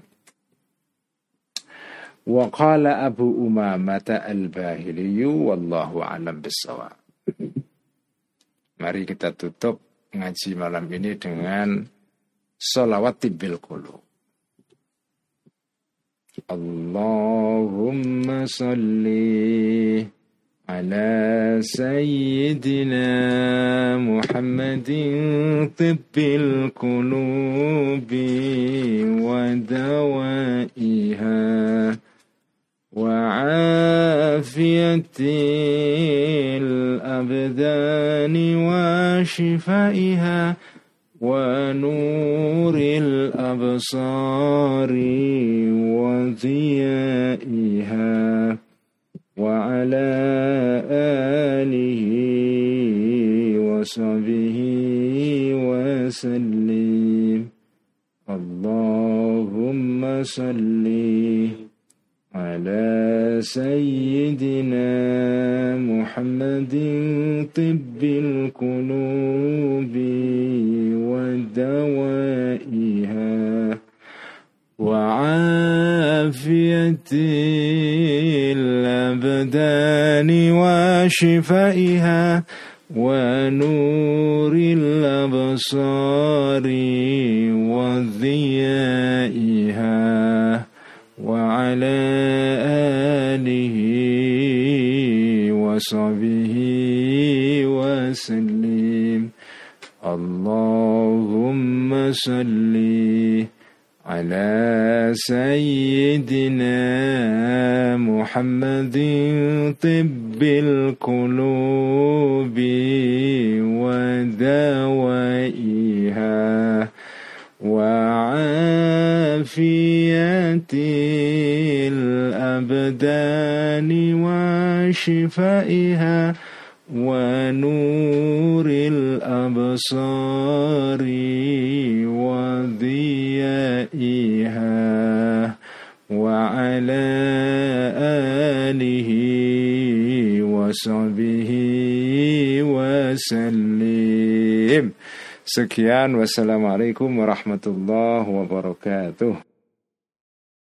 Wa qala Abu Umamah al-Bahili wallahu a'lam bis-shawab. Mari kita tutup ngaji malam ini dengan sholawat bil qulub. Allahumma sholli على سيدنا محمد طب القلوب ودوائها وعافية الأبدان وشفائها ونور الأبصار وضيائها وعلى آله وصحبه وسلم اللهم صل على سيدنا محمد طب القلوب ودوائها وعافية الأبدان وشفائها ونور الأبصار وضيائها وعلى آله وصحبه وسلم اللهم صل على سيدنا محمد طب القلوب ودوائها وعافية الأبدان وشفائها ونور الأبصار وضيائها وعلى آله وصحبه وسلم. Sekian, wassalamualaikum warahmatullahi wabarakatuh.